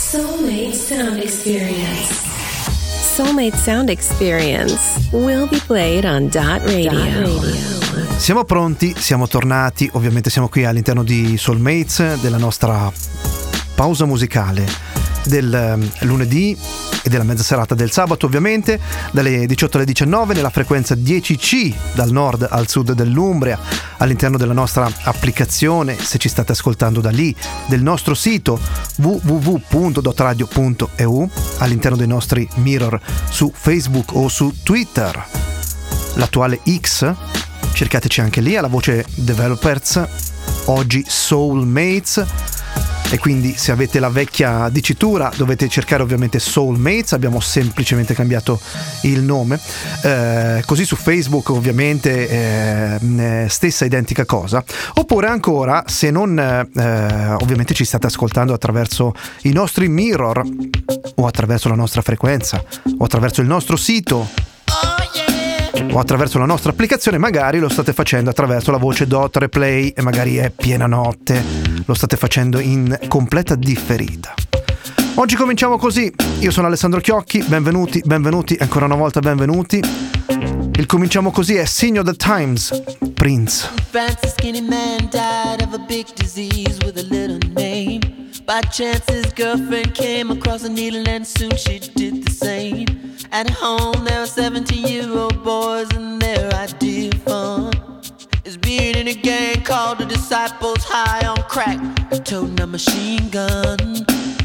Soulmate Sound Experience. Soulmate Sound Experience will be played on Dot Radio. Siamo pronti, siamo tornati, ovviamente siamo qui all'interno di Soulmates, della nostra pausa musicale del lunedì e della mezza serata del sabato, ovviamente dalle 18 alle 19 nella frequenza 10C dal nord al sud dell'Umbria, all'interno della nostra applicazione, se ci state ascoltando da lì, del nostro sito www.dotradio.eu, all'interno dei nostri mirror su Facebook o su Twitter, l'attuale X, cercateci anche lì alla voce Developers, oggi Soulmates. E quindi se avete la vecchia dicitura dovete cercare ovviamente Soulmates, abbiamo semplicemente cambiato il nome, così su Facebook ovviamente stessa identica cosa, oppure ancora se non ovviamente ci state ascoltando attraverso i nostri mirror o attraverso la nostra frequenza o attraverso il nostro sito o attraverso la nostra applicazione, magari lo state facendo attraverso la voce Dot Replay e magari è piena notte, lo state facendo in completa differita. Oggi cominciamo così, io sono Alessandro Chiocchi, benvenuti, ancora una volta benvenuti. Il cominciamo così è Sign of the Times, Prince. Francis skinny man died of a big disease with a little name. By chance his girlfriend came across a needle and soon she did the same. At home there were 17-year-old boys and their idea of fun is being in a gang called the Disciples, high on crack, toting a machine gun.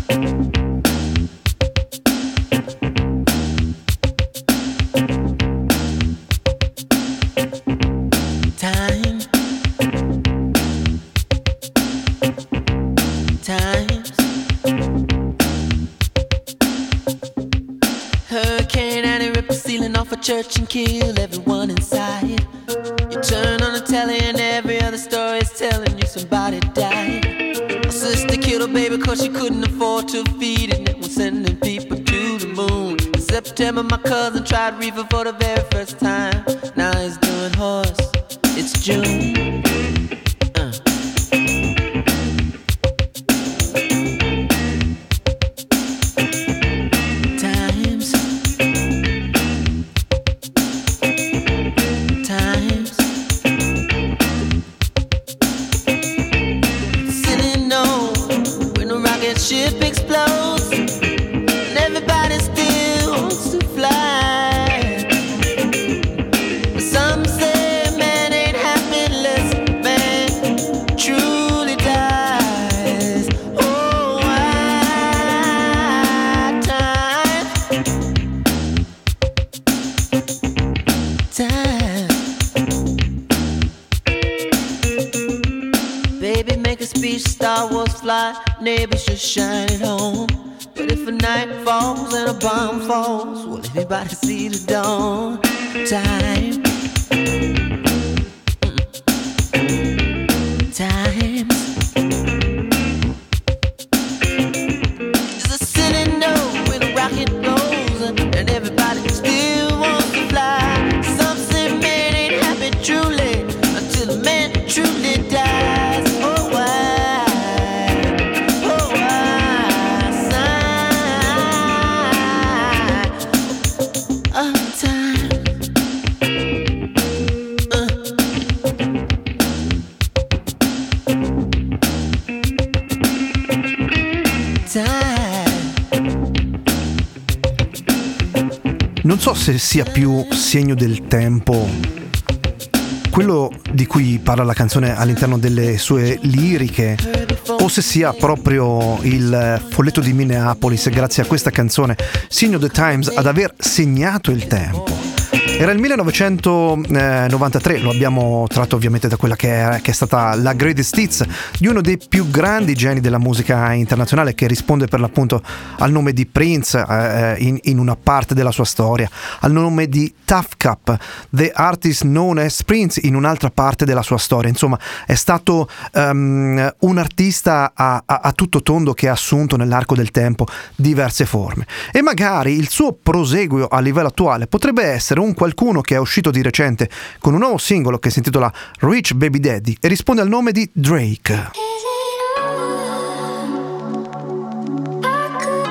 Times Hurricane Annie ripped the ceiling off a church and killed everyone inside. You turn on the telly and every other story is telling you somebody died. A sister killed her baby cause she couldn't afford to feed it, and it was sending people to the moon. In September my cousin tried reefer for the very first time. Now he's doing horse, it's June. Ship explodes and everybody still wants to fly. Some say man ain't happy unless man truly dies. Oh, why time. Baby, make a speech, Star Wars fly, neighbors just shine it home. But if a night falls and a bomb falls, will anybody see the dawn? Time. Times. Just a silly note when a rocket goes and everybody still wants to fly. Some say man ain't happy truly until a man truly dies. Oh, why? Oh, why? Sign of time. Non so se sia più segno del tempo quello di cui parla la canzone all'interno delle sue liriche, o se sia proprio il folletto di Minneapolis, grazie a questa canzone Sign of the Times, ad aver segnato il tempo. Era il 1993, lo abbiamo tratto ovviamente da quella che è stata la greatest hits di uno dei più grandi geni della musica internazionale, che risponde per l'appunto al nome di Prince in una parte della sua storia, al nome di Tough Cup, the artist known as Prince, in un'altra parte della sua storia. Insomma, è stato un artista a tutto tondo che ha assunto nell'arco del tempo diverse forme, e magari il suo proseguio a livello attuale potrebbe essere un qualcuno che è uscito di recente con un nuovo singolo che si intitola Rich Baby Daddy e risponde al nome di Drake. I could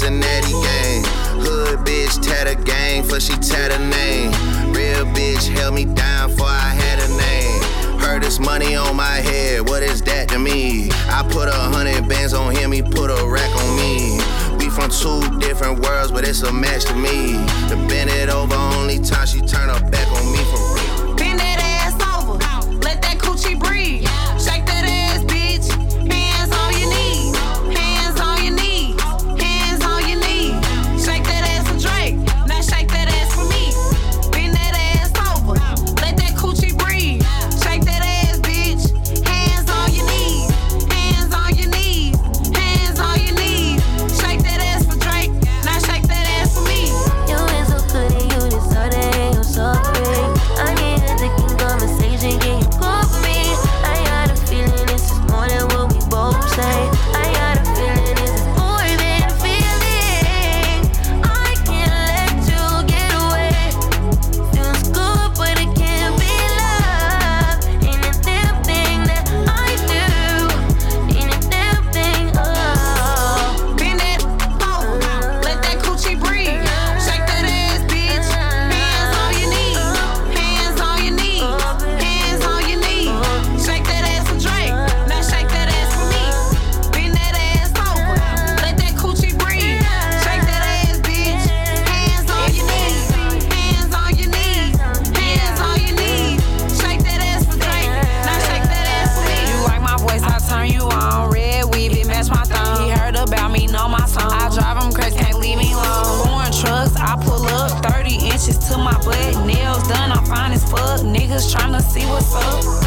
Cincinnati gang. Hood bitch tat a gang for she tat a name. Real bitch held me down for I had a name. Heard this money on my head, what is that to me? I put 100 bands on him, he put a rack on me. We from two different worlds, but it's a match to me. To bend it over, only time she turn her back on me for real. Bend that ass over, let that coochie breathe. Shake that ass, bitch. Hands on your knees, hands on your knees, hands on your knees. Shake that ass for Drake, now shake that ass for me. Bend that ass over, let that coochie breathe. Shake that ass, bitch. Hands on your knees, hands on your knees, hands on your knees. Shake that ass for Drake, now shake that ass for me. You ain't so good and you deserve it and you're sorry. I need a thinking conversation, can you call for me? I got a feeling this is more than what we both say. I got a feeling this is more than a feeling. I can't let you get away. Feels good but it can't be love. Ain't a damn thing that I do. Ain't a damn thing, oh. Bend that over, let that coochie breathe. Shake that ass, bitch. Hands on your knees, hands on your knees, hands on your knees. Shake that ass for Drake, now shake that ass for me. Bend that ass over, let that coochie breathe. Shake that ass, bitch. Hands on your knees, hands on your knees, hands on your knees. Shake that ass for Drake, now shake that ass for me. You like my voice, I turn you on. Red weave, it match my thumb. He heard about me, know my song. I drive him crazy, can't leave me alone. Foreign trucks, I pull up 30 inches to my butt. Nails done, I'm fine as fuck. Niggas tryna see what's up.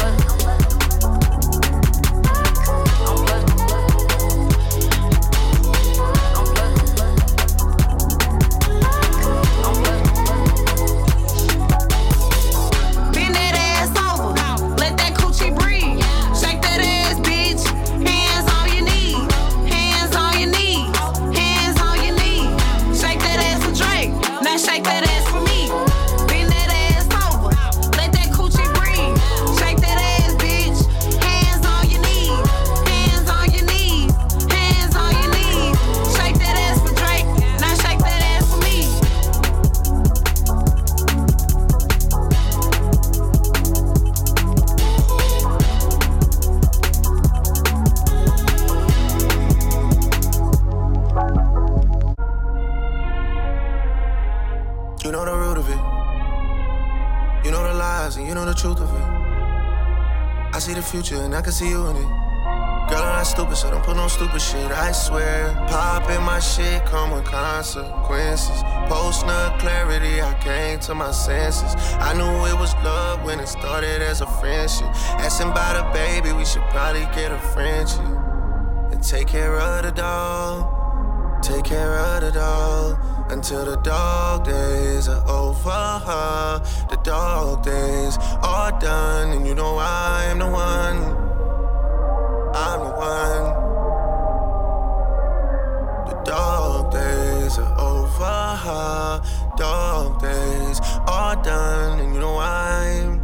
Bend that ass over, let that coochie breathe. Shake that ass, bitch. Hands on your knees, hands on your knees, hands on your knees. Shake that ass for Drake, now shake that ass for me. Bend that ass over, let that coochie breathe. Shake that ass, bitch. Hands on your knees, hands on your knees, hands on your knees. Shake that ass for Drake, now shake that ass for me. You know the root of it. You know the lies and you know the truth of it. I see the future and I can see you in it. Girl, I'm not stupid, so don't put no stupid shit, I swear. Poppin' my shit come with consequences. Post-nut clarity, I came to my senses. I knew it was love when it started as a friendship. Asking about a baby, we should probably get a friendship. And take care of the dog, take care of the dog. Until the dog days are over. The dog days are done, and you know I'm the one. I'm the one. The dog days are over. Dog days are done, and you know I'm.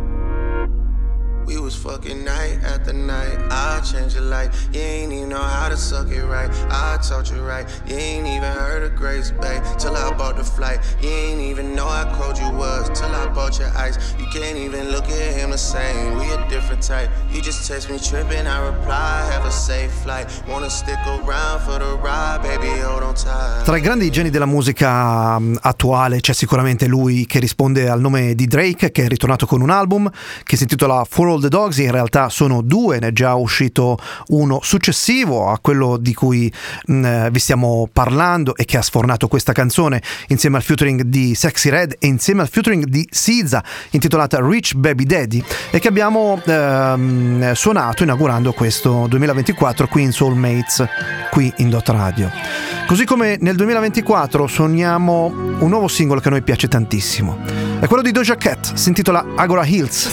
We was fucking night after night. I changed your life. You ain't even know how to suck it right. I taught you right. You ain't even heard of Grace Bay till I bought the flight. You ain't even know how cold you was till I bought your ice. You can't even look at him the same. We a different type. You just text me tripping, I reply, have a safe flight. Wanna stick around for the ride, baby, hold on tight. Tra i grandi geni della musica attuale c'è sicuramente lui che risponde al nome di Drake, che è ritornato con un album che si intitola For All the Dogs. In realtà sono due, ne è già uscito uno successivo a quello di cui vi stiamo parlando e che ha sfornato questa canzone insieme al featuring di Sexy Red e insieme al featuring di SZA intitolata Rich Baby Daddy, e che abbiamo suonato inaugurando questo 2024 qui in Soulmates, qui in Dot Radio. Così come nel 2024 suoniamo un nuovo singolo che a noi piace tantissimo, è quello di Doja Cat, si intitola Agora Hills.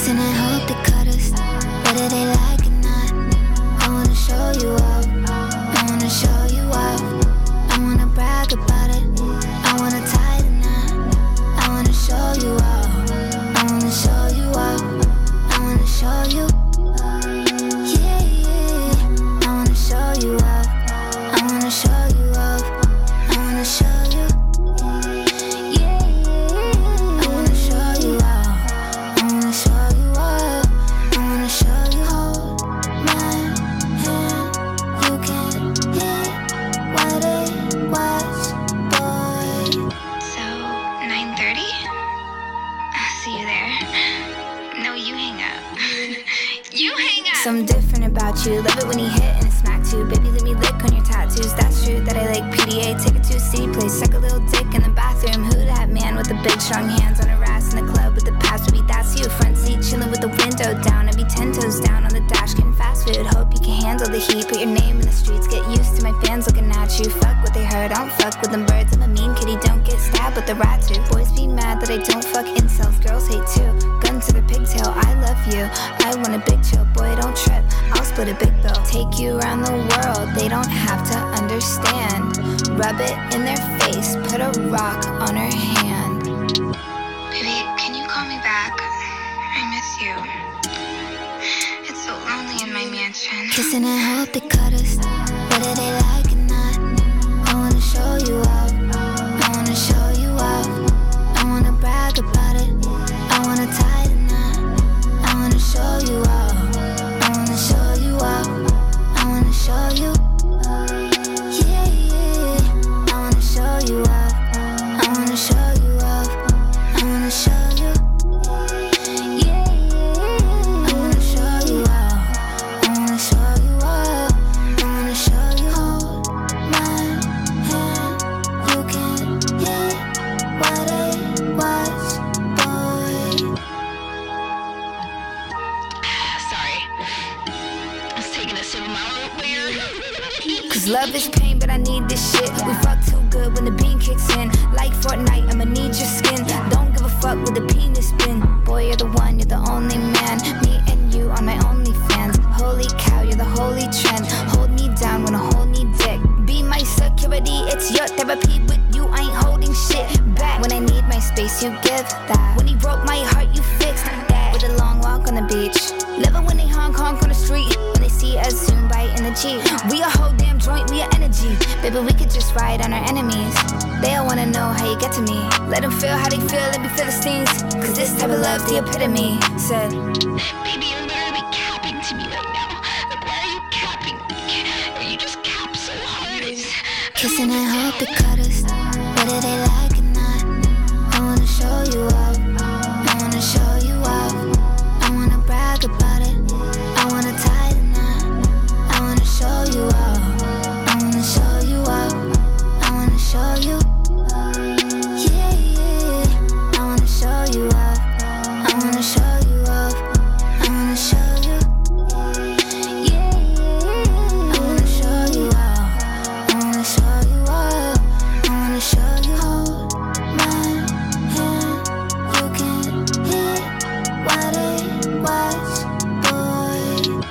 see you there. No, you hang up. You hang up. Something different about you. Love it when you hit and it smack too. Baby, let me lick on your tattoos. That's true that I like PDA. Take it to a city place. Suck a little dick in the bathroom. Who that man with the big strong hands on her ass in the club with the pass? Baby, that's you. Front seat chilling with the window down. I be 10 toes down on the dash getting fast food. Hope you can handle the heat. Put your name in the streets. Get used to my fans looking at you. Fuck what they heard. I don't fuck with them birds. I'm a mean kitty. Don't get stabbed with the rat too. Boys be mad that I don't fuck incels. Girls hate too. Gun to the pigtail. I love you. I want a big chill. Boy, don't trip. I'll split a big bill. Take you around the world. They don't have to understand. Rub it in their face. Put a rock on her hand. Baby, can you call me back? I miss you. It's so lonely in my mansion. Kissing and hope they cut us. Whether they like or not. I wanna show you off. I wanna show you off. I wanna brag about it. I wanna tie the knot. I wanna show you off. I wanna show you off. I wanna show you. Yeah, yeah. I wanna show you off. I wanna show you off. I wanna show you. Yeah, yeah. I wanna show you off. I wanna show you off. I wanna show you. Hold my hand. You can hit what it was, boy. Sorry. I was taking a sip of my root beer. Cause love is pain, but I need this shit. We fuck too good when the bean kicks in. Like Fortnite, I'ma need your skin. Don't give a fuck with the penis spin. Boy, you're the one, you're the only man. Me and you are my only fans. Holy cow, you're the holy trend. Hold me down when I hold me dick. Be my security, it's your therapy. With you, I ain't holding shit back. When I need my space, you give that. When he broke my heart, you fixed that. With a long walk on the beach. Living when they honk on the street. When they see us soon bite in the Jeep. We a whole damn joint, we a energy. Baby, we could just ride on our enemies. They all wanna know how you get to me. Let them feel how they feel and be Philistines. Cause this type of love's the epitome. Said, Baby, you're literally capping to me right now. Like, why are you capping? You just cap so hard. It's... kissing and hope they cut us. Whether they like or not. I wanna show you off. I wanna show you off. I wanna brag about it. I wanna tie the knot. I wanna show you off. I wanna show you off. I wanna show you. Yeah, yeah. I wanna show you off. I wanna show you off. I wanna show you. Yeah, yeah. I wanna show you off. I wanna show you off. I wanna show you. Hold my hand. You can hit what it was, boy.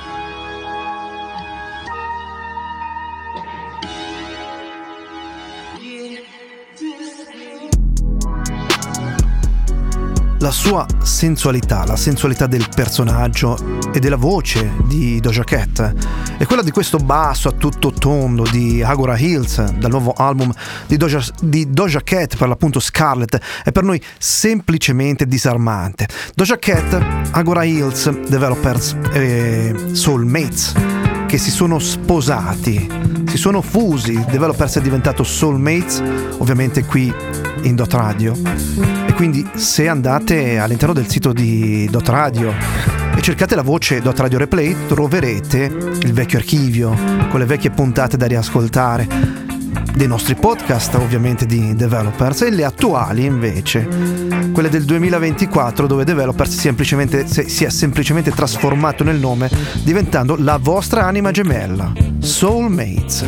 La sua sensualità, la sensualità del personaggio e della voce di Doja Cat è quella di questo basso a tutto tondo di Agora Hills, dal nuovo album di Doja Cat, per l'appunto Scarlet, è per noi semplicemente disarmante. Doja Cat, Agora Hills, Developers e Soulmates che si sono sposati, si sono fusi. Developers è diventato Soulmates, ovviamente qui in Dot Radio, e quindi se andate all'interno del sito di Dot Radio e cercate la voce Dot Radio Replay troverete il vecchio archivio con le vecchie puntate da riascoltare dei nostri podcast, ovviamente di Developers, e le attuali invece, quelle del 2024, dove Developers si è semplicemente trasformato nel nome, diventando la vostra anima gemella, Soulmates.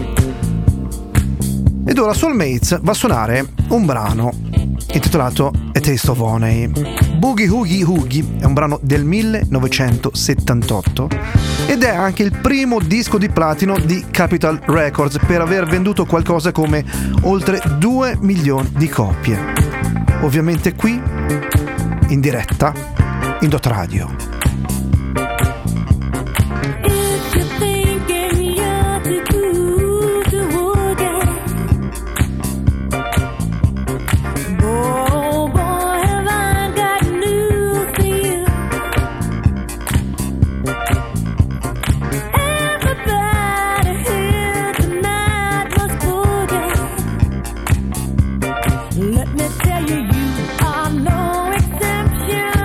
Ed ora Soulmates va a suonare un brano intitolato A Taste of Honey. Boogie Oogie Oogie è un brano del 1978 ed è anche il primo disco di platino di Capitol Records, per aver venduto qualcosa come oltre 2 milioni di copie. Ovviamente qui in diretta in Dot Radio. Let me tell you, you are no exception.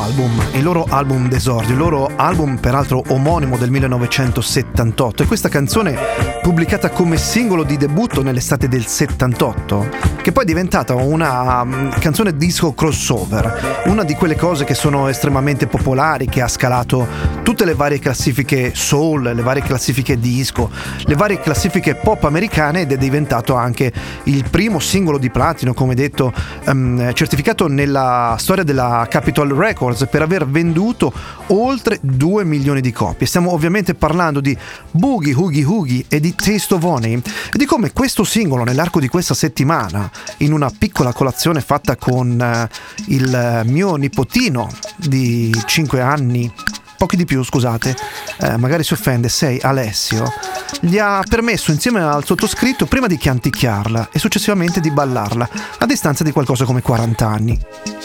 il loro album d'esordio, il loro album peraltro omonimo del 1978, e questa canzone pubblicata come singolo di debutto nell'estate del 78, che poi è diventata una canzone disco crossover, una di quelle cose che sono estremamente popolari, che ha scalato tutte le varie classifiche soul, le varie classifiche disco, le varie classifiche pop americane, ed è diventato anche il primo singolo di platino, come detto, certificato nella storia della Capitol Records per aver venduto oltre 2 milioni di copie. Stiamo ovviamente parlando di Boogie Oogie Oogie e di Taste of Honey, e di come questo singolo nell'arco di questa settimana, in una piccola colazione fatta con il mio nipotino di 5 anni, pochi di più, scusate, magari si offende, 6, Alessio, gli ha permesso insieme al sottoscritto prima di canticchiarla e successivamente di ballarla a distanza di qualcosa come 40 anni.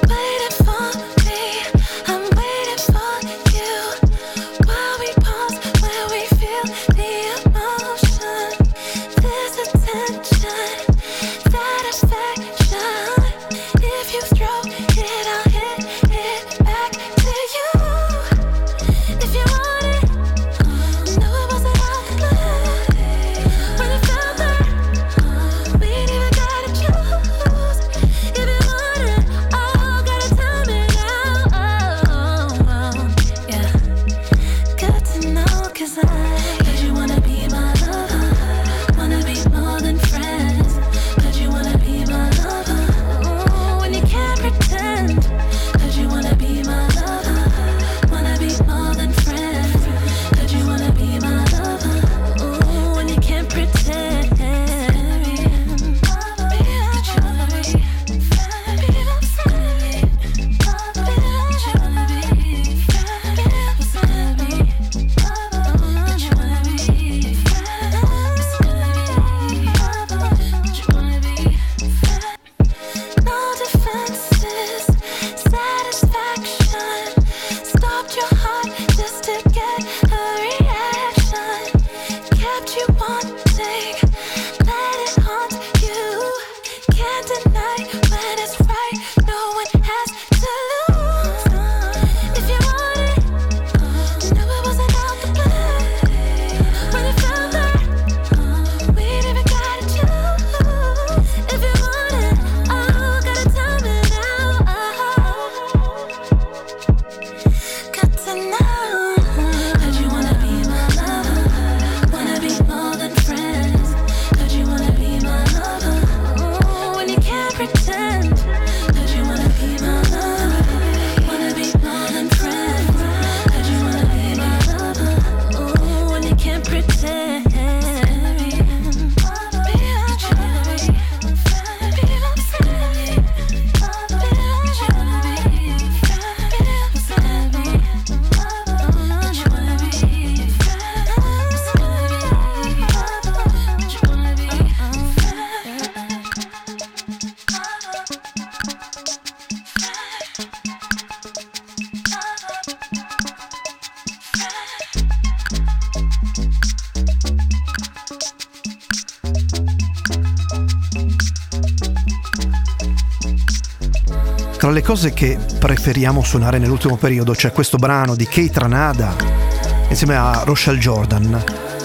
Tra le cose che preferiamo suonare nell'ultimo periodo c'è questo brano di Kate Ranada insieme a Rochelle Jordan.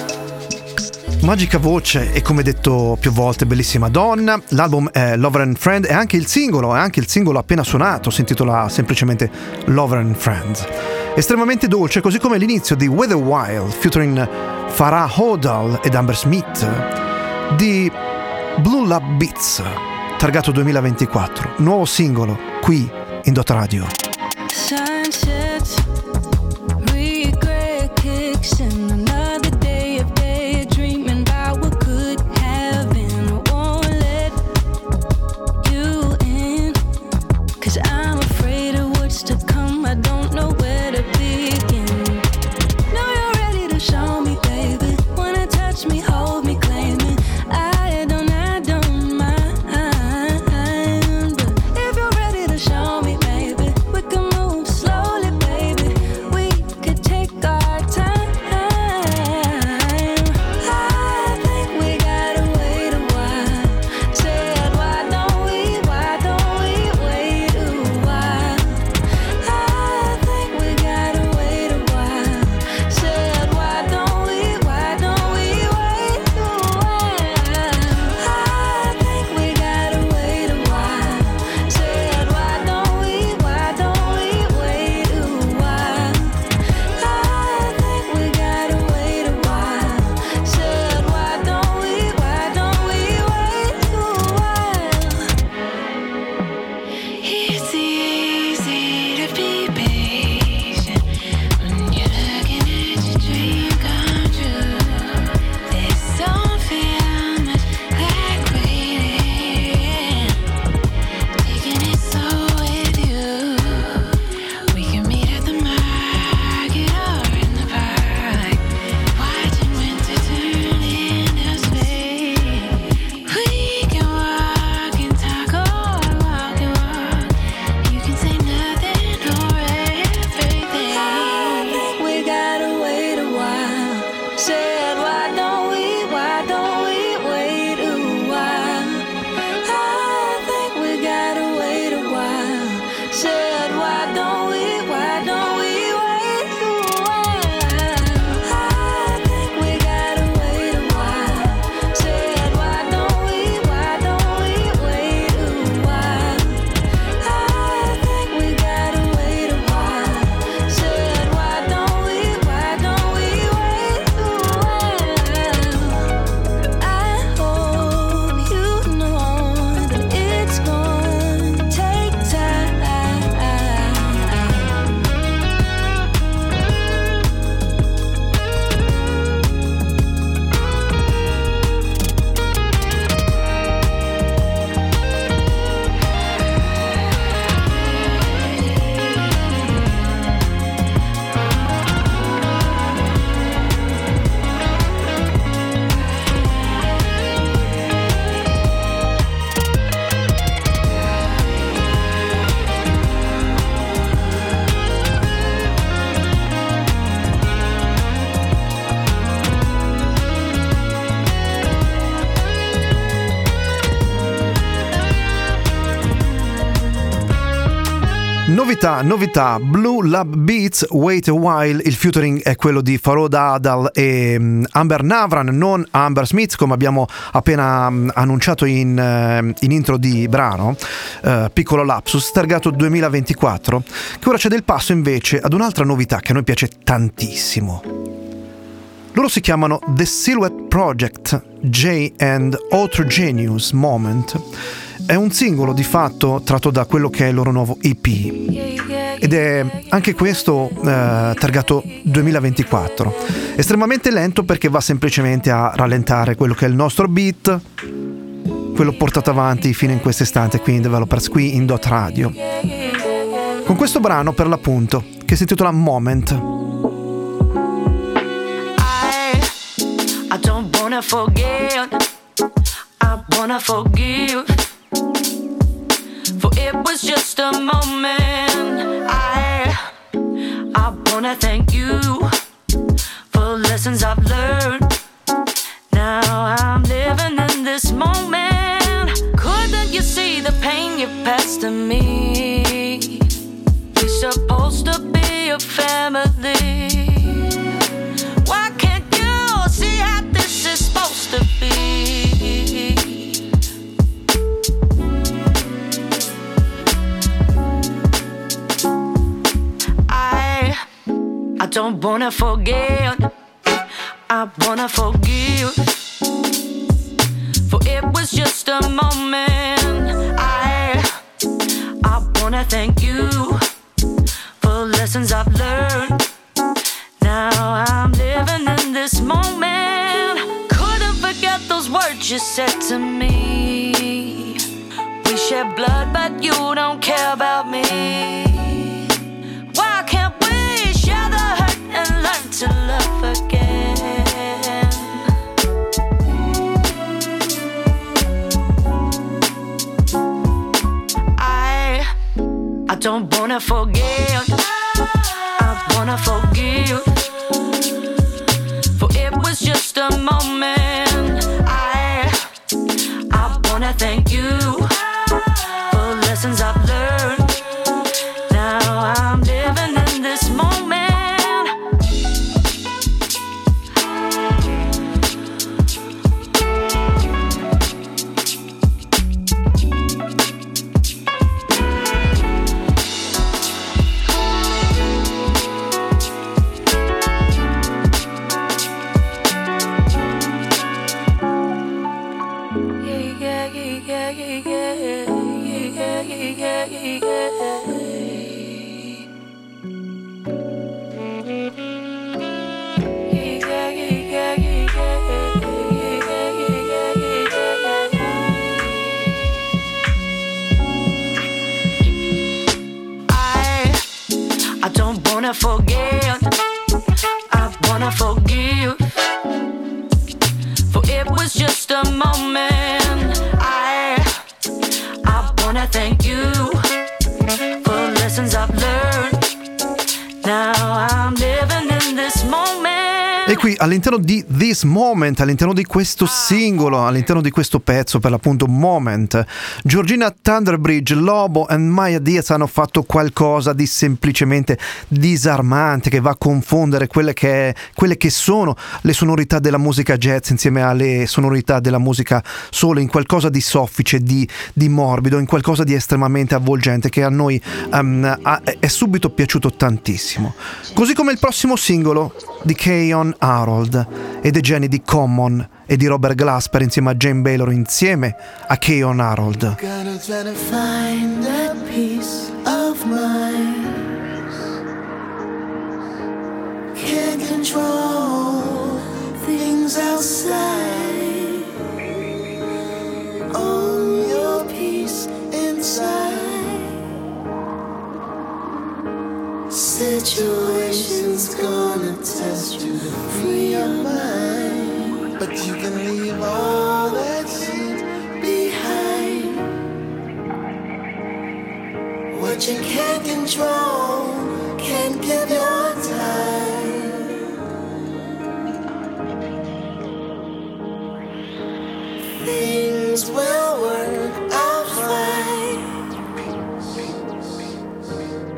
Magica voce e, come detto più volte, bellissima donna. L'album è Lover and Friend e anche il singolo appena suonato si intitola semplicemente Lover and Friends. Estremamente dolce, così come l'inizio di Weather Wild featuring Farrah Hodal ed Amber Smith di Blue Lab Beats, targato 2024, nuovo singolo qui in Dot Radio. Sunsets, regret kicks in another day of daydreaming about what could have been. I won't let you in, 'cause I'm afraid of what's to come. I don't know where to begin. Know you're ready to show me, baby. Wanna touch me, hold me, claim me. I don't mind, but if you're ready to show me, baby, we're Novità, Blue Lab Beats, Wait a While. Il featuring è quello di Farhad Adal e Amber Navran, non Amber Smith, come abbiamo appena annunciato in intro di brano. Piccolo lapsus, targato 2024, che ora cede il passo invece ad un'altra novità che a noi piace tantissimo. Loro si chiamano The Silhouette Project, J and Heterogeneous Moment. È un singolo di fatto tratto da quello che è il loro nuovo EP ed è anche questo targato 2024. Estremamente lento perché va semplicemente a rallentare quello che è il nostro beat, quello portato avanti fino in quest'istante qui in Developers, qui in Dot Radio, con questo brano per l'appunto che si intitola Moment. I don't wanna forget, I wanna forgive, for it was just a moment. I wanna thank you for lessons I've learned. Now I'm living in this moment. Couldn't you see the pain you passed to me? We're supposed to be a family. Why can't you see how this is supposed to be? I don't wanna forget, I wanna forgive, for it was just a moment. I wanna thank you for lessons I've learned. Now I'm living in this moment. Couldn't forget those words you said to me. We shed blood but you don't care about me. Why can't we share the hurt and learn to love again? I don't wanna forget, I wanna forgive, for it was just a moment. I wanna thank you for lessons I've learned. Now I'm living in this moment. I don't wanna forget, I wanna forgive, for it was just a moment. I wanna thank you for lessons I've learned. Now I'm living in this moment. E qui all'interno di This Moment, all'interno di questo singolo, all'interno di questo pezzo per l'appunto Moment, Georgina Thunderbridge, Lobo e Maya Diaz hanno fatto qualcosa di semplicemente disarmante, che va a confondere quelle che sono le sonorità della musica jazz insieme alle sonorità della musica soul, in qualcosa di soffice, di morbido, in qualcosa di estremamente avvolgente che a noi è subito piaciuto tantissimo. Così come il prossimo singolo di Keyon Harold e dei geni di Common e di Robert Glasper insieme a Jane Baylor, insieme a Keyon Harold. Gonna try to find that peace of mind. Can't control things outside. Own your peace inside. Situation's gonna test you to free your mind, but you can leave all that shit behind. What you can't control, can't give your time. Things will work out fine.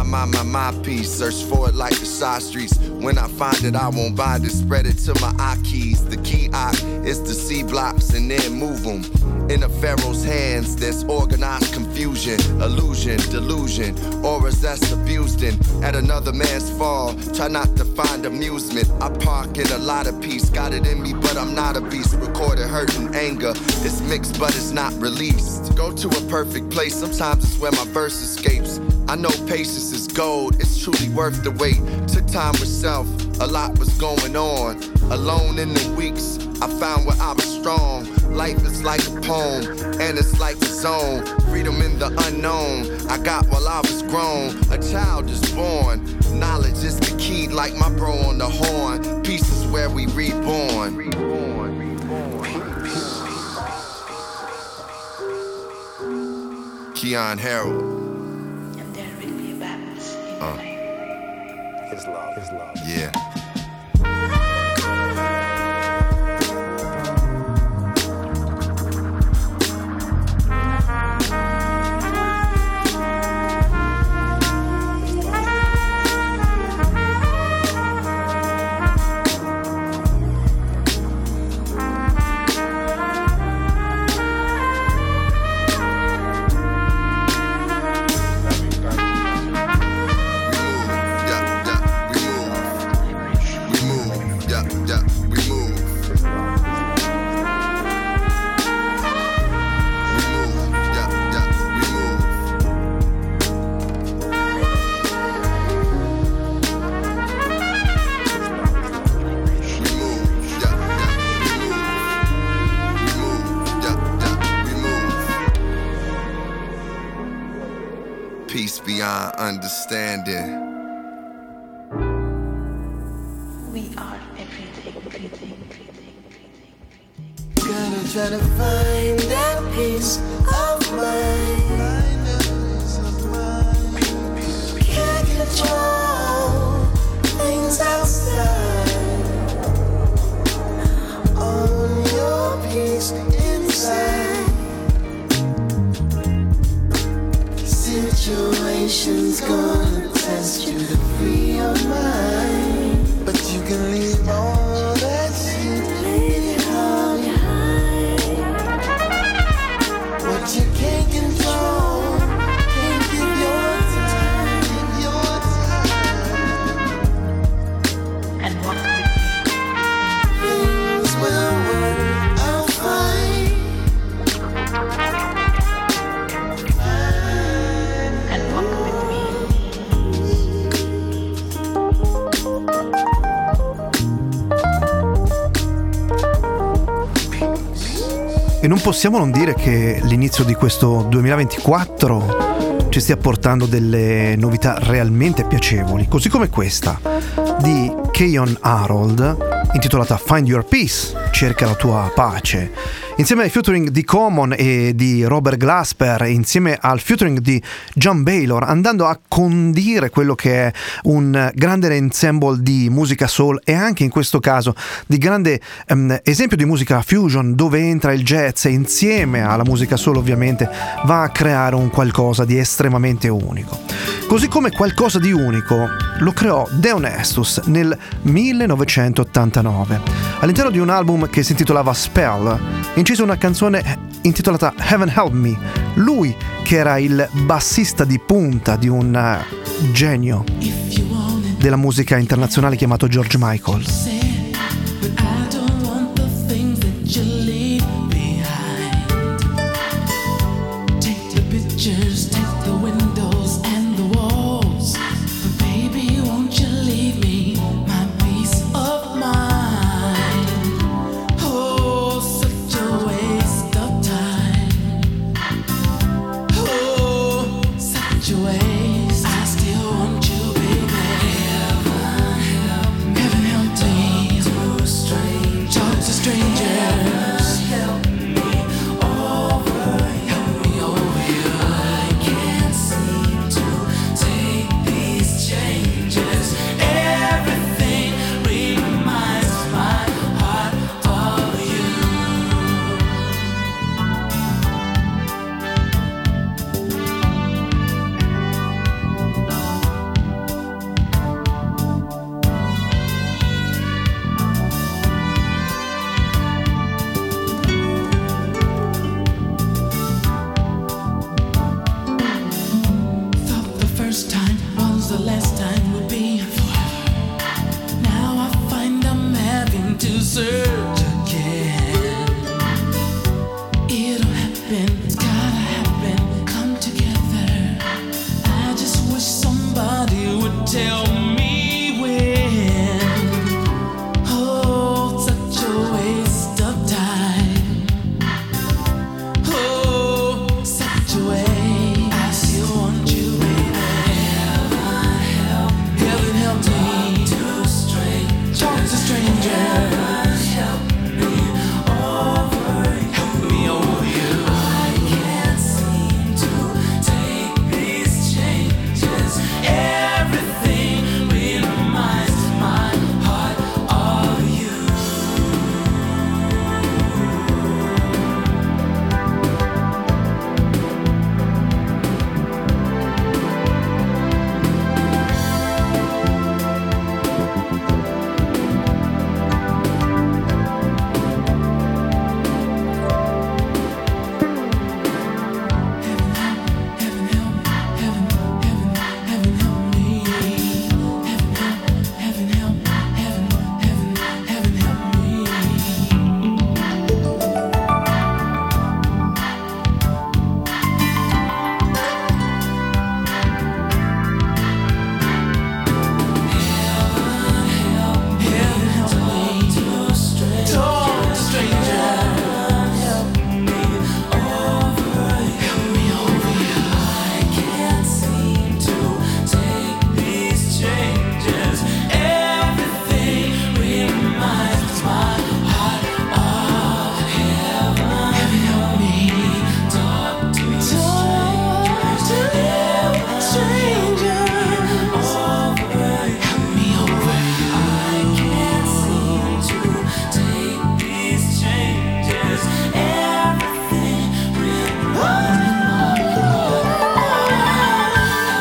my piece. Search for it like the side streets. When I find it, I won't bind it. Spread it to my eye keys. The key eye is to see blocks and then move them. In a pharaoh's hands, there's organized confusion, illusion, delusion, auras that's abused in. At another man's fall, try not to find amusement. I park in a lot of peace. Got it in me, but I'm not a beast. Recorded hurt and anger. It's mixed, but it's not released. Go to a perfect place. Sometimes it's where my verse escapes. I know patience is gold. It's truly worth the wait. Took time with self. A lot was going on. Alone in the weeks, I found where I was strong. Life is like a poem, and it's like a zone. Freedom in the unknown, I got while I was grown. A child is born, knowledge is the key, like my bro on the horn. Peace is where we reborn. Keon Harold. And there will be a balance in life. His love. Yeah. Peace beyond understanding. We are everything. Gonna try to find that peace of mind. Can't control things outside. Own your peace inside. Situation's gonna test you to free your mind, but you can leave all that shit behind. What you can't control, can't give your time, And walk with me. Things will work out fine. And walk with me. E non possiamo non dire che l'inizio di questo 2024 ci stia portando delle novità realmente piacevoli, così come questa di Keyon Harold, intitolata Find Your Peace, cerca la tua pace, insieme ai featuring di Common e di Robert Glasper, insieme al featuring di John Baylor, andando a condire quello che è un grande ensemble di musica soul e anche in questo caso di grande esempio di musica fusion, dove entra il jazz e insieme alla musica soul ovviamente va a creare un qualcosa di estremamente unico. Così come qualcosa di unico lo creò De Honestus nel 1989 all'interno di un album che si intitolava Spell. Incise una canzone intitolata Heaven Help Me, lui che era il bassista di punta di un genio della musica internazionale chiamato George Michael. I still want you, baby. Heaven help me.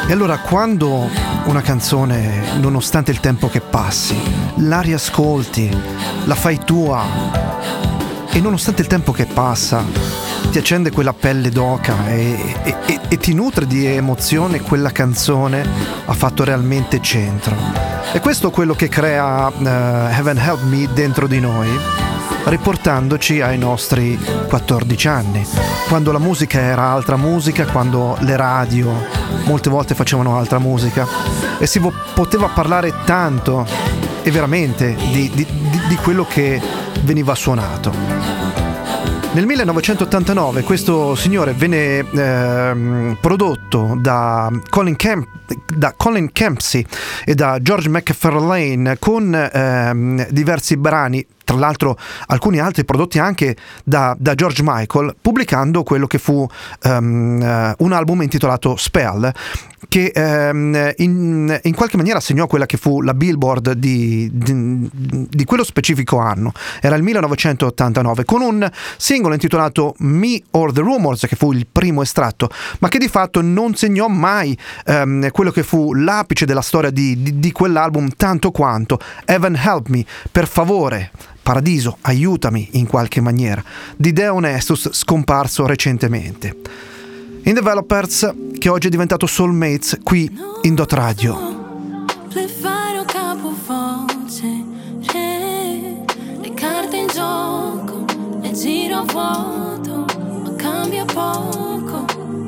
E allora quando una canzone, nonostante il tempo che passi, la riascolti, la fai tua e nonostante il tempo che passa ti accende quella pelle d'oca e ti nutre di emozione, quella canzone ha fatto realmente centro. E questo è quello che crea Heaven Help Me dentro di noi, riportandoci ai nostri 14 anni, quando la musica era altra musica, quando le radio molte volte facevano altra musica e si poteva parlare tanto e veramente di quello che veniva suonato. Nel 1989 questo signore venne prodotto da Colin Kempsey e da George McFarlane con diversi brani, tra l'altro alcuni altri prodotti anche da George Michael, pubblicando quello che fu un album intitolato Spell, che in qualche maniera segnò quella che fu la Billboard di quello specifico anno. Era il 1989, con un singolo intitolato Me or the Rumors, che fu il primo estratto, ma che di fatto non segnò mai quello che fu l'apice della storia di quell'album, tanto quanto Heaven Help Me, per favore, Paradiso, aiutami in qualche maniera, di Deon Estus, scomparso recentemente. In Developers, che oggi è diventato Soulmates qui in Dot Radio. Fare un capovoce, le carte in gioco, le giro a vuoto, ma cambia poco.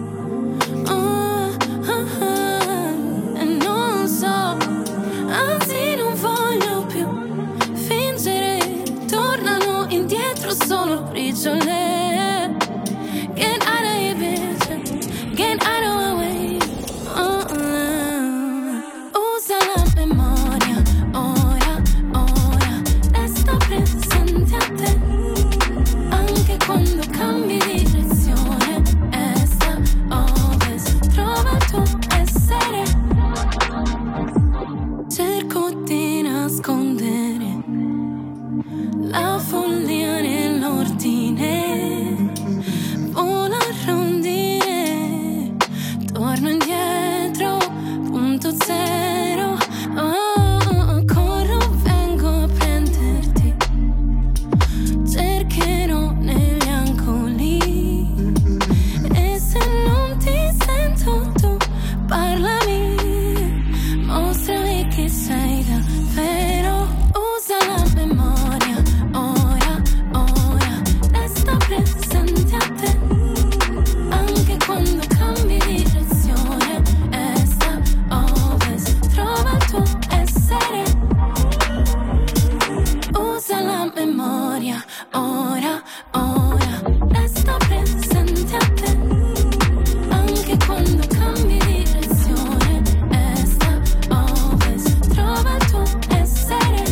E non so, anzi non voglio più fingere, tornano indietro solo briciole. Get out of here, bitch. Get out of my way. Usa la memoria, ora, ora. Resta presente a te. Anche quando cambi direzione. Est, ovest. Trova il tuo essere. Cerco di nascondere la follia nell'ordine. Vola a rondine, torno indietro, punto zero. Corro, vengo a prenderti. Cercherò negli angoli. E se non ti sento tu, parlami. Mostrami che sei davvero. Usa la memoria, ora, ora. Resta presente a te. Anche quando cambi direzione, est, ovest, trova il tuo essere. Usa la memoria, ora, ora. Resta presente a te. Anche quando cambi direzione, est, ovest, trova il tuo essere.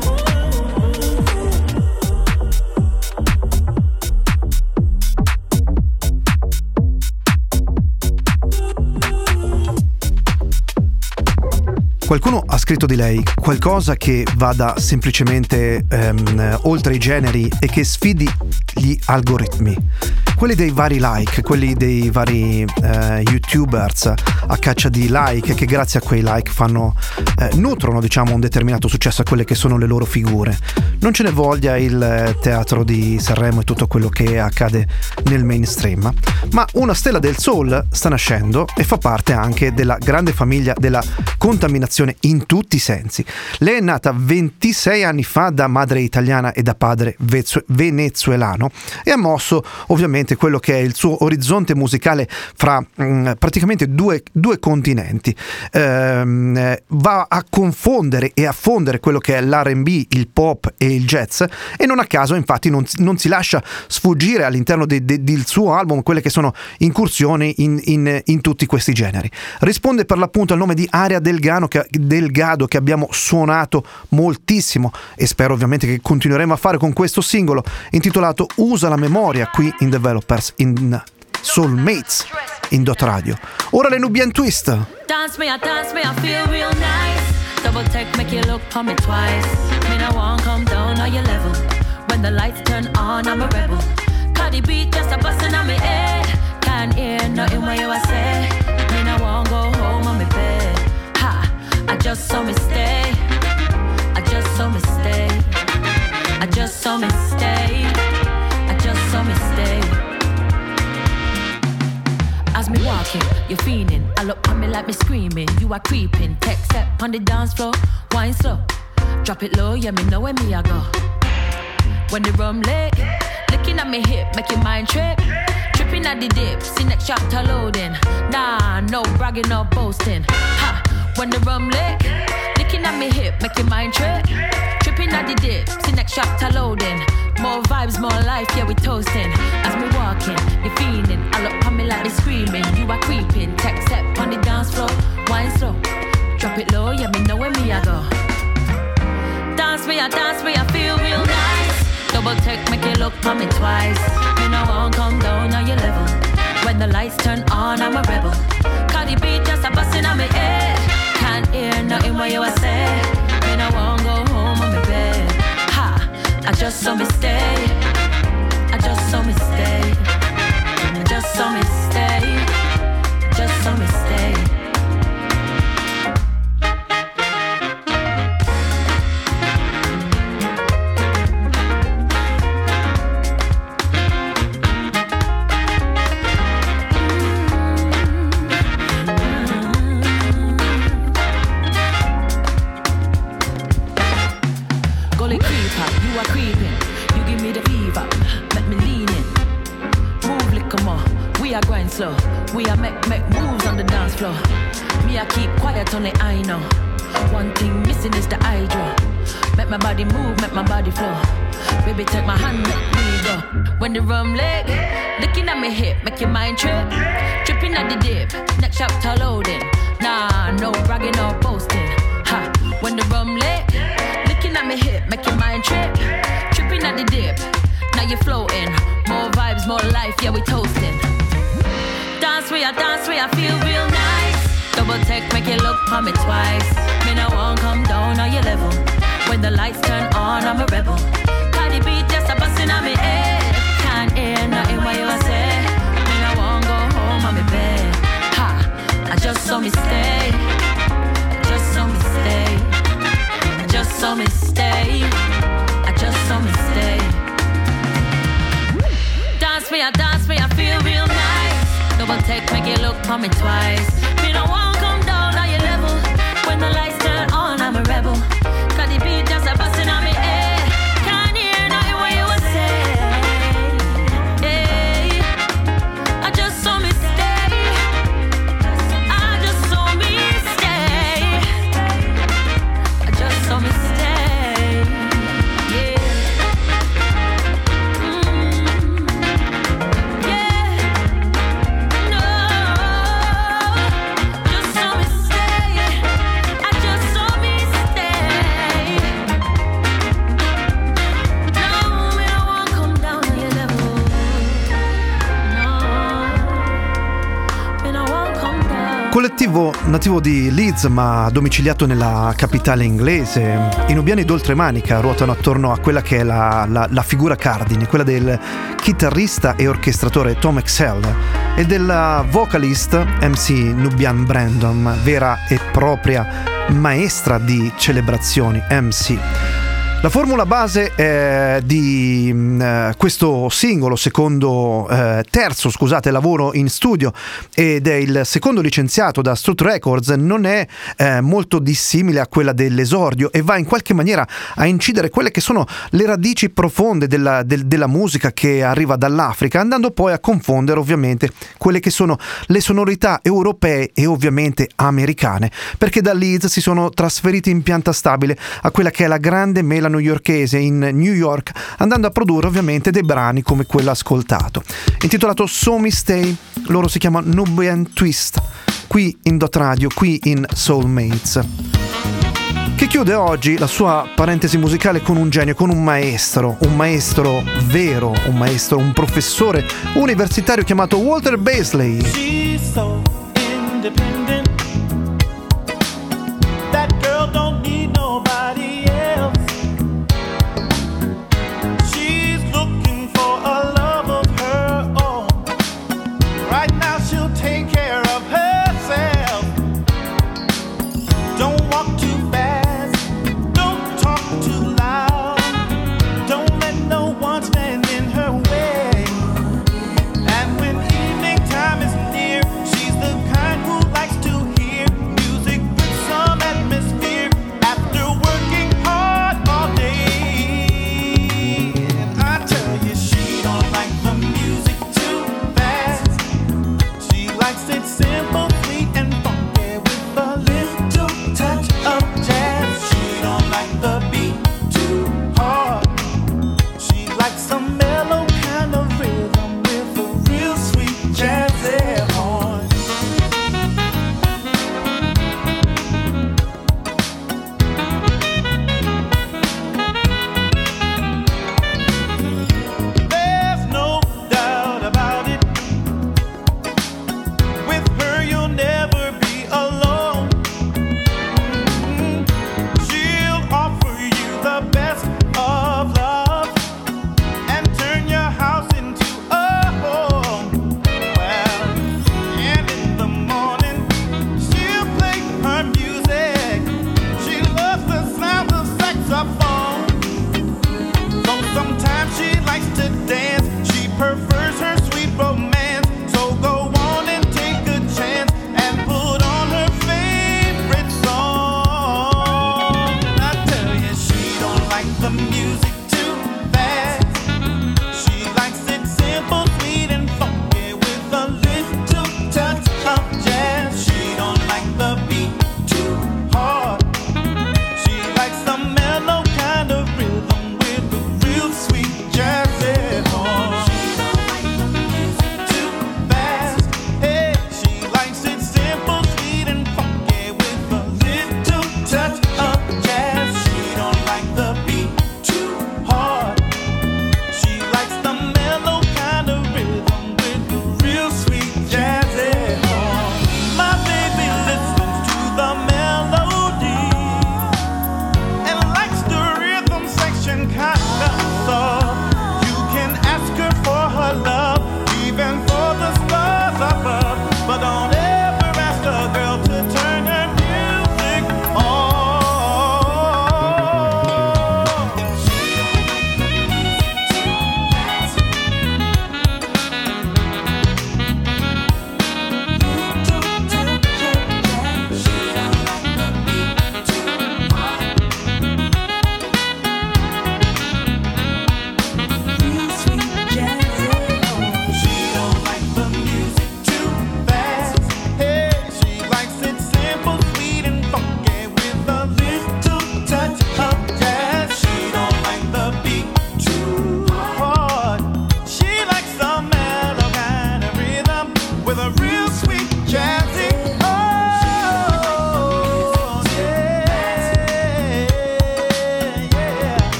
Qualcuno ha scritto di lei qualcosa che vada semplicemente oltre i generi e che sfidi gli algoritmi, quelli dei vari like, quelli dei vari youtubers a caccia di like, che grazie a quei like nutrono, diciamo, un determinato successo a quelle che sono le loro figure. Non ce ne voglia il teatro di Sanremo e tutto quello che accade nel mainstream, ma una stella del soul sta nascendo e fa parte anche della grande famiglia della contaminazione in tutti i sensi. Lei è nata 26 anni fa da madre italiana e da padre venezuelano e ha mosso ovviamente quello che è il suo orizzonte musicale fra praticamente due continenti. Va a confondere e a fondere quello che è l'R&B, il pop e il jazz, e non a caso infatti non si lascia sfuggire all'interno del suo album quelle che sono incursioni in tutti questi generi. Risponde per l'appunto al nome di Aria Delgado, che abbiamo suonato moltissimo e spero ovviamente che continueremo a fare con questo singolo intitolato Usa la memoria qui in Developers in Soulmates in Dot Radio. Ora le Nubian Twist. Dance me, I feel real nice. Double take, make you look for me twice. Me no want come down on your level. When the lights turn on, I'm a rebel. Cause the beat just a bustin' on me head. Can't hear nothing what you a say. Me no want won't go home on my bed. Ha, I just saw me stay. I just saw me stay. I just saw me stay. I just saw me stay. As me walking, you're fiending. I look on me like me screaming. You are creeping. Tech step on the dance floor. Wine slow. Drop it low, yeah, me know where me I go. When the rum lit, looking at me hip, make your mind trip. Tripping at the dip, see next chapter loading. Nah, no bragging or boasting. Ha, when the rum lit, looking at me hip, make your mind trip. Tripping at the dip, see next chapter loading. More vibes, more life, yeah, we toasting. As me walking, you feeling. I look on me like me screaming. You are creeping, tech step on the dance floor. Wine slow, drop it low, yeah, me know where me I go. Dance me, I feel real nice. Double take, make you look on me twice. Me no won't come down on your level. When the lights turn on, I'm a rebel. Cardi B just a bustin' on me head. Can't hear nothing what you a say. Me no won't go home on me bed. Ha, I just saw me stay. I just saw me stay. I just saw me stay. Just saw me stay. You are creeping, you give me the fever, make me lean in. Move little more, we are going slow. We are make moves on the dance floor. Me I keep quiet on the I know. One thing missing is the eye draw. Make my body move, make my body flow. Baby take my hand, make me go. When the rum leg, looking at me hip, make your mind trip. Tripping at the dip, next chapter loading. Nah, no bragging or boasting. Ha, when the rum leg, looking at me hip, make your mind trip. Tripping at the dip, now you're floating. More vibes, more life, yeah, we toasting. Dance where I feel real nice. Double take, make you look on me twice. Me no won't come down on your level. When the lights turn on, I'm a rebel. Cardi B just a bustin' on me head. Can't hear nothing what you say. Me no won't go home on me bed. Ha, I just saw me stay. I just saw me stay. I just saw me stay. I just saw me stay. Dance me, I feel real nice. Double take, make you look on me twice. Me no won't come down on your level. When the lights turn on, I'm a rebel. Cardi B just a bustin' on me head. Can't hear nothing what you would say. Hey, I just saw me stay. I just saw me stay. I just saw me stay. Yeah. Collettivo nativo di Leeds ma domiciliato nella capitale inglese, i nubiani d'oltremanica ruotano attorno a quella che è la figura cardine, quella del chitarrista e orchestratore Tom Excell e della vocalist MC Nubian Brandon, vera e propria maestra di celebrazioni MC. La formula base di questo singolo, terzo lavoro in studio ed è il secondo licenziato da Strut Records, non è molto dissimile a quella dell'esordio e va in qualche maniera a incidere quelle che sono le radici profonde della musica che arriva dall'Africa, andando poi a confondere ovviamente quelle che sono le sonorità europee e ovviamente americane, perché da Leeds si sono trasferiti in pianta stabile a quella che è la grande mela newyorkese in New York, andando a produrre ovviamente dei brani come quello ascoltato. Intitolato So Me Stay, loro si chiamano Nubian Twist, qui in Dot Radio, qui in Soulmates, che chiude oggi la sua parentesi musicale con un genio, con un maestro vero, un professore universitario chiamato Walter Basley. She's so independent. That girl don't need nobody else. She's looking for a love of her own. Right now she'll take care of herself.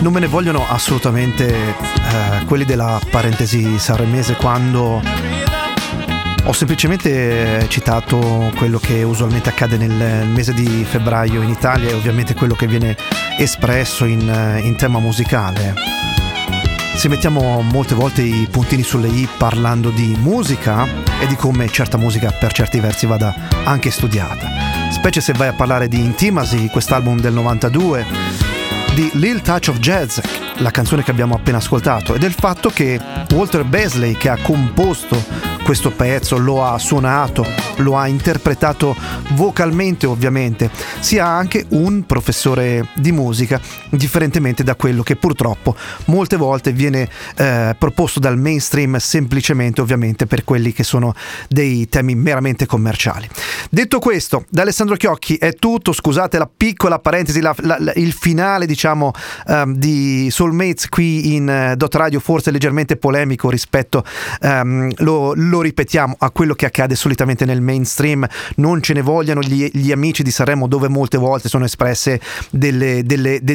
Non me ne vogliono assolutamente quelli della parentesi sanremese quando ho semplicemente citato quello che usualmente accade nel mese di febbraio in Italia e ovviamente quello che viene espresso in tema musicale. Se mettiamo molte volte i puntini sulle i parlando di musica e di come certa musica per certi versi vada anche studiata, specie se vai a parlare di Intimacy, quest'album del 92, di Lil Touch of Jazz, la canzone che abbiamo appena ascoltato, e del fatto che Walter Beasley, che ha composto questo pezzo, lo ha suonato, lo ha interpretato vocalmente ovviamente, sia anche un professore di musica, differentemente da quello che purtroppo molte volte viene proposto dal mainstream, semplicemente ovviamente per quelli che sono dei temi meramente commerciali. Detto questo, da Alessandro Chiocchi è tutto. Scusate la piccola parentesi, il finale diciamo di Soulmates qui in Dot Radio, forse leggermente polemico rispetto, lo ripetiamo, a quello che accade solitamente nel mainstream. Non ce ne vogliano gli amici di Sanremo, dove molte volte sono espresse delle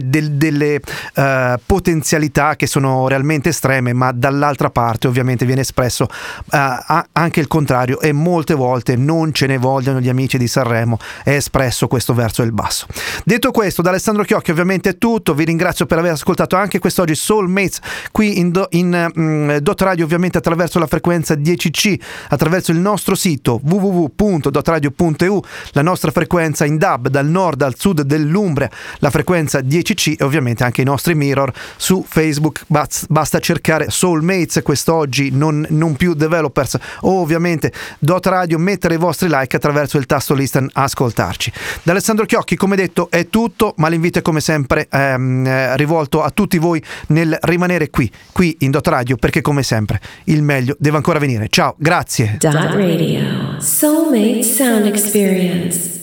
potenzialità che sono realmente estreme, ma dall'altra parte ovviamente viene espresso anche il contrario, e molte volte non ce ne vogliono gli amici di Sanremo, è espresso questo verso il basso. Detto questo, da Alessandro Chiocchi ovviamente è tutto. Vi ringrazio per aver ascoltato anche quest'oggi Soulmates qui in Dot Radio, ovviamente attraverso la frequenza 10C, attraverso il nostro sito www.dotradio.eu, la nostra frequenza in DAB dal nord al sud dell'Umbria, la frequenza 10C, e ovviamente anche i nostri mirror su Facebook. Basta cercare Soulmates quest'oggi, non più Developers, o ovviamente Dot Radio, mettere i vostri like attraverso il tasto listen, ascoltarci. Da Alessandro Chiocchi, come detto, è tutto, ma l'invito è come sempre rivolto a tutti voi nel rimanere qui in Dot Radio, perché come sempre il meglio deve ancora venire. Ciao, grazie. Dot Radio. Soulmate Sound Experience.